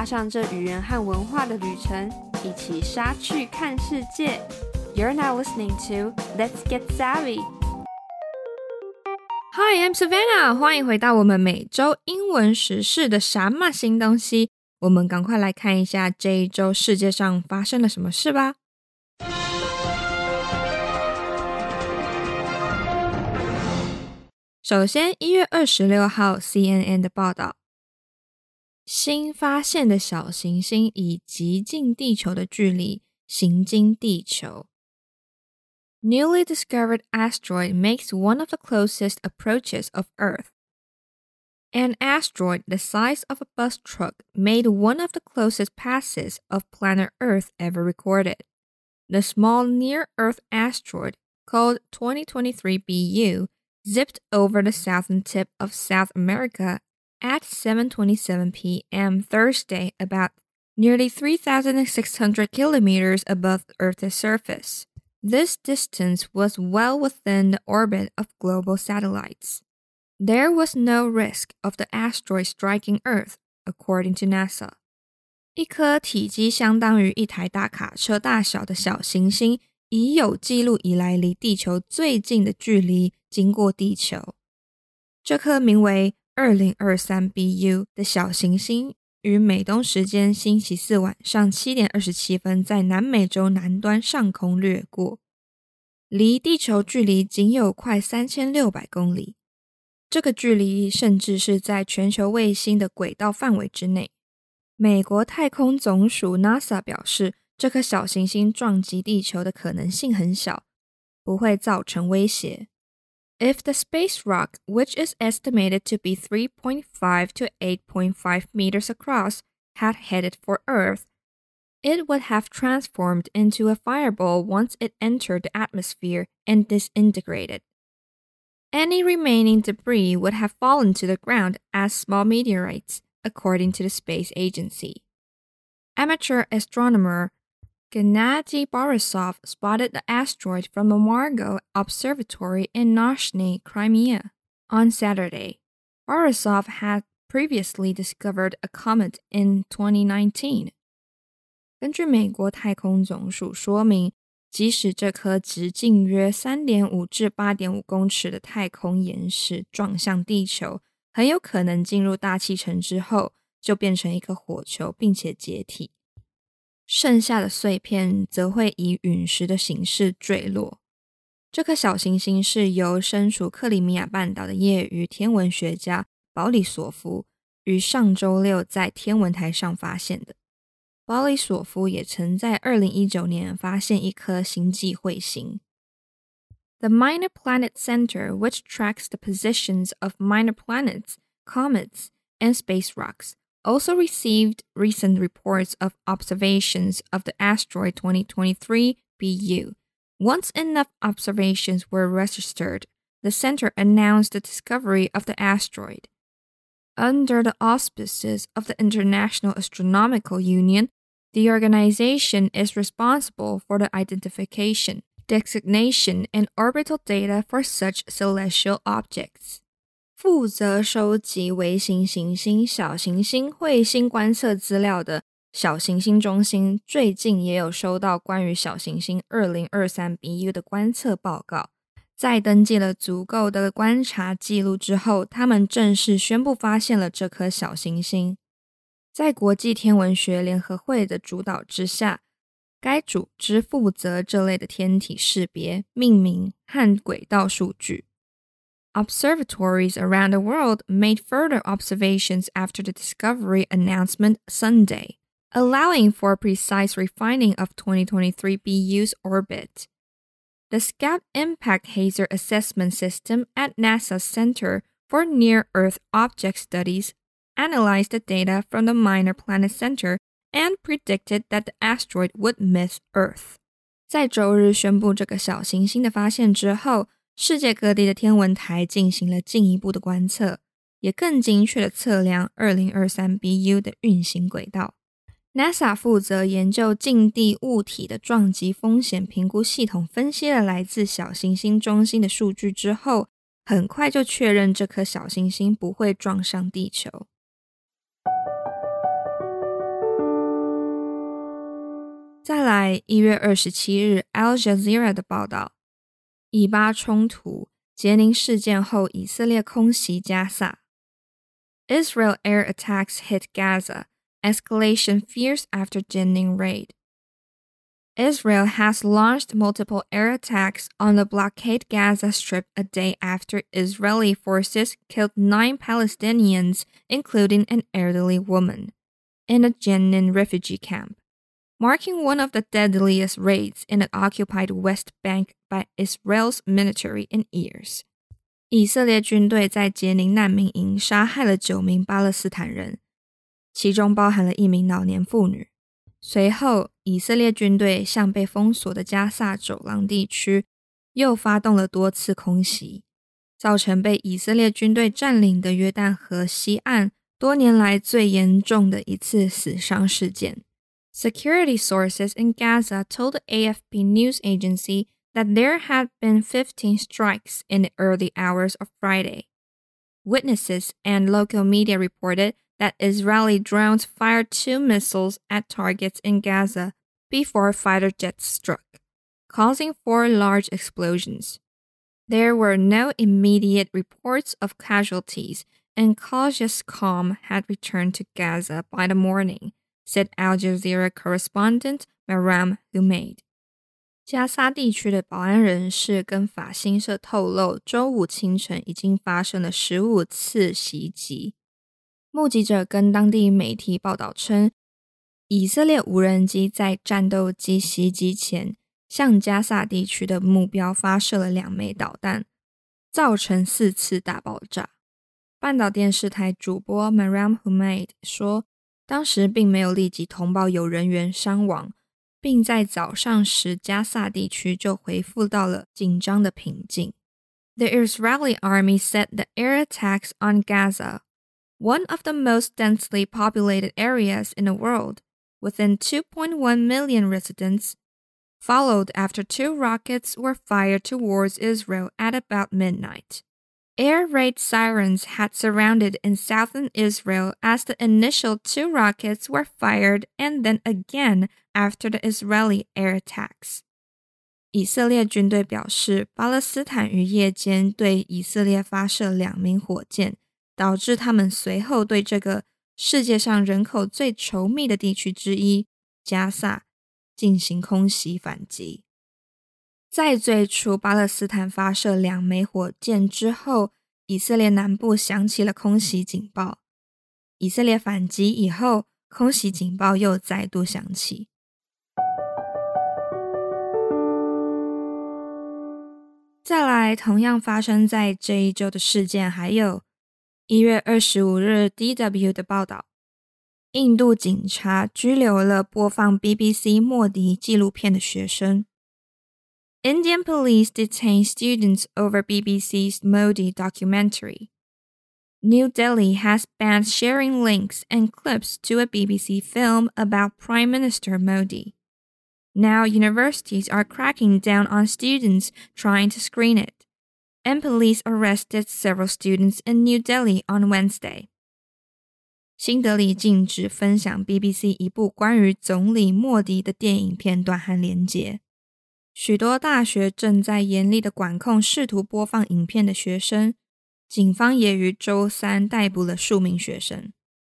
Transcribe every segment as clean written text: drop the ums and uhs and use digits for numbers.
上這語言和文化的旅程，一起莎去看世界。You're now listening to Let's Get Savvy. Hi, I'm Savannah. 歡迎回到我們每周英文時事的啥嘛新東西。我們趕快來看一下這一周世界上發生了什麼事吧。首先，1月26號 CNN 的報道，新發現的小行星以極近地球的距離行經地球。Newly discovered asteroid makes one of the closest approaches of Earth. An asteroid the size of a bus truck made one of the closest passes of planet Earth ever recorded. The small near-Earth asteroid, called 2023 BU, zipped over the southern tip of South America at 7:27 p.m. Thursday, about nearly 3,600 kilometers above Earth's surface. This distance was well within the orbit of global satellites. There was no risk of the asteroid striking Earth, according to NASA. 一顆體積相當於一台大卡車大小的小行星，已有記錄以來離地球最近的距離經過地球。這顆名為2023 BU 的小行星於美東時間星期四晚上7點27分在南美洲南端上空掠過，離地球距離僅有快3600公里。這個距離甚至是在全球衛星的軌道範圍之內。美國太空總署 NASA 表示，這顆小行星撞擊地球的可能性很小，不會造成威脅。If the space rock, which is estimated to be 3.5 to 8.5 meters across, had headed for Earth, it would have transformed into a fireball once it entered the atmosphere and disintegrated. Any remaining debris would have fallen to the ground as small meteorites, according to the space agency. Amateur astronomer Gennady Borisov spotted the asteroid from the Margo Observatory in Nizhny Crimea on Saturday. Borisov had previously discovered a comet in 2019. 根據美國太空總署說明，即使這顆直徑約 3.5 至 8.5 公尺的太空岩石撞向地球，很有可能進入大氣層之後，就變成一顆火球並且解體。剩下的碎片則會以隕石的形式墜落。這顆小行星是由身處克里米亞半島的業餘天文學家保里索夫於上周六在天文台上發現的。保里索夫也曾在2019年發現一顆星際彗星。The Minor Planet Center, which tracks the positions of minor planets, comets, and space rocks, also received recent reports of observations of the asteroid 2023 BU. Once enough observations were registered, the center announced the discovery of the asteroid. Under the auspices of the International Astronomical Union, the organization is responsible for the identification, designation, and orbital data for such celestial objects. 負責收集微型行星、小行星、彗星觀測資料的小行星中心，最近也有收到關於小行星2023 BU 的觀測報告。在登記了足夠的觀察記錄之後，他們正式宣布發現了這顆小行星。在國際天文學聯合會的主導之下，該組織負責這類的天體識別、命名和軌道數據。Observatories around the world made further observations after the discovery announcement Sunday, allowing for precise refining of 2023 BU's orbit. The Scout Impact Hazer Assessment System at NASA's Center for Near-Earth Object Studies analyzed the data from the Minor Planet Center and predicted that the asteroid would miss Earth. 在周日宣布這個小行星的發現之後，世界各地的天文台進行了進一步的觀測，也更精確地測量2023 BU 的運行軌道。NASA 負責研究近地物體的撞擊風險評估系統分析了來自小行星中心的數據之後，很快就確認這顆小行星不會撞上地球。 再來1月27日 Al Jazeera 的報道，以巴衝突傑寧事件後，以色列空襲加薩。Israel air attacks hit Gaza, escalation fierce after Jenin raid. Israel has launched multiple air attacks on the blockade Gaza Strip a day after Israeli forces killed 9 Palestinians, including an elderly woman, in a Jenin refugee camp, marking one of the deadliest raids in the occupied West Bank by Israel's military in years. 以色列軍隊在傑寧難民營殺害了9名巴勒斯坦人，其中包含了1名老年婦女。隨後，以色列軍隊向被封鎖的加薩走廊地區又發動了多次空襲，造成被以色列軍隊佔領的約旦河西岸多年來最嚴重的一次死傷事件。Security sources in Gaza told the AFP news agency that there had been 15 strikes in the early hours of Friday. Witnesses and local media reported that Israeli drones fired 2 missiles at targets in Gaza before fighter jets struck, causing 4 large explosions. There were no immediate reports of casualties, and cautious calm had returned to Gaza by the morning, said Al Jazeera correspondent Maram Humaid. 加薩地區的保安人士跟法新社透露，週五清晨已經發生了15次襲擊。目擊者跟當地媒體報道稱，以色列無人機在戰鬥機襲擊前，向加薩地區的目標發射了2枚導彈，造成4次大爆炸。半島電視台主播 Maram Humaid 說，當時並沒有立即通報有人員傷亡，並在早上時加薩地區就恢復到了緊張的平靜。The Israeli army said the air attacks on Gaza, one of the most densely populated areas in the world, within 2.1 million residents, followed after 2 rockets were fired towards Israel at about midnight. Air raid sirens had surrounded in southern Israel as the initial 2 rockets were fired and then again after the Israeli air attacks. 以色列軍隊表示，巴勒斯坦於夜間對以色列發射2枚火箭，導致他們隨後對這個世界上人口最稠密的地區之一加薩進行空襲反擊。在最初巴勒斯坦發射2枚火箭之後，以色列南部響起了空襲警報。以色列反擊以後，空襲警報又再度響起。再來，同樣發生在這一周的事件，還有1月25日 DW 的報道，印度警察拘留了播放 BBC 莫迪紀錄片的學生。Indian police detain students over BBC's Modi documentary. New Delhi has banned sharing links and clips to a BBC film about Prime Minister Modi. Now universities are cracking down on students trying to screen it, and police arrested several students in New Delhi on Wednesday. 新德里禁止分享 BBC 一部關於總理莫迪的電影片段和連結。許多大學正在嚴厲的管控試圖播放影片的學生，警方也於週三逮捕了數名學生。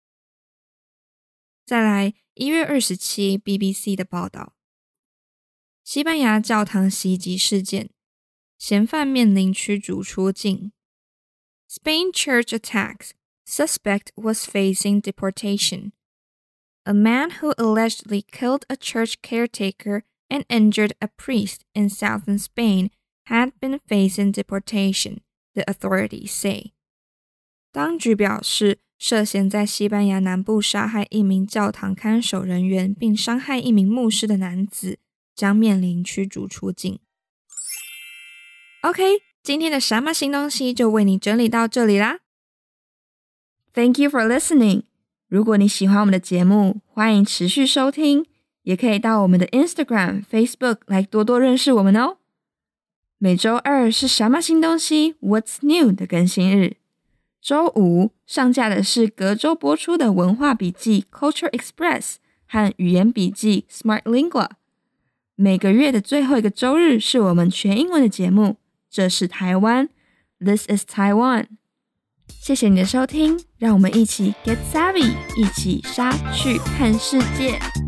再來1月27 BBC 的報道，西班牙教堂襲擊事件，嫌犯面臨驅逐出境。Spain church attacks, suspect was facing deportation. A man who allegedly killed a church caretaker and injured a priest in southern Spain had been facing deportation, the authorities say. 當局表示，涉嫌在西班牙南部殺害一名教堂看守人員並傷害一名牧師的男子將面臨驅逐出境。OK， 今天的什麼新東西就為你整理到這裡啦。Thank you for listening. 如果你喜歡我們的節目，歡迎持續收聽，也可以到我們的 Instagram、Facebook 來多多認識我們哦。每週二是什麼新東西 What's New 的更新日，週五上架的是隔週播出的文化筆記 Culture Express 和語言筆記 Smart Lingua。 每個月的最後一個週日是我們全英文的節目。這是台灣 ，This is Taiwan。謝謝你的收聽，讓我們一起 get savvy，一起莎去看世界。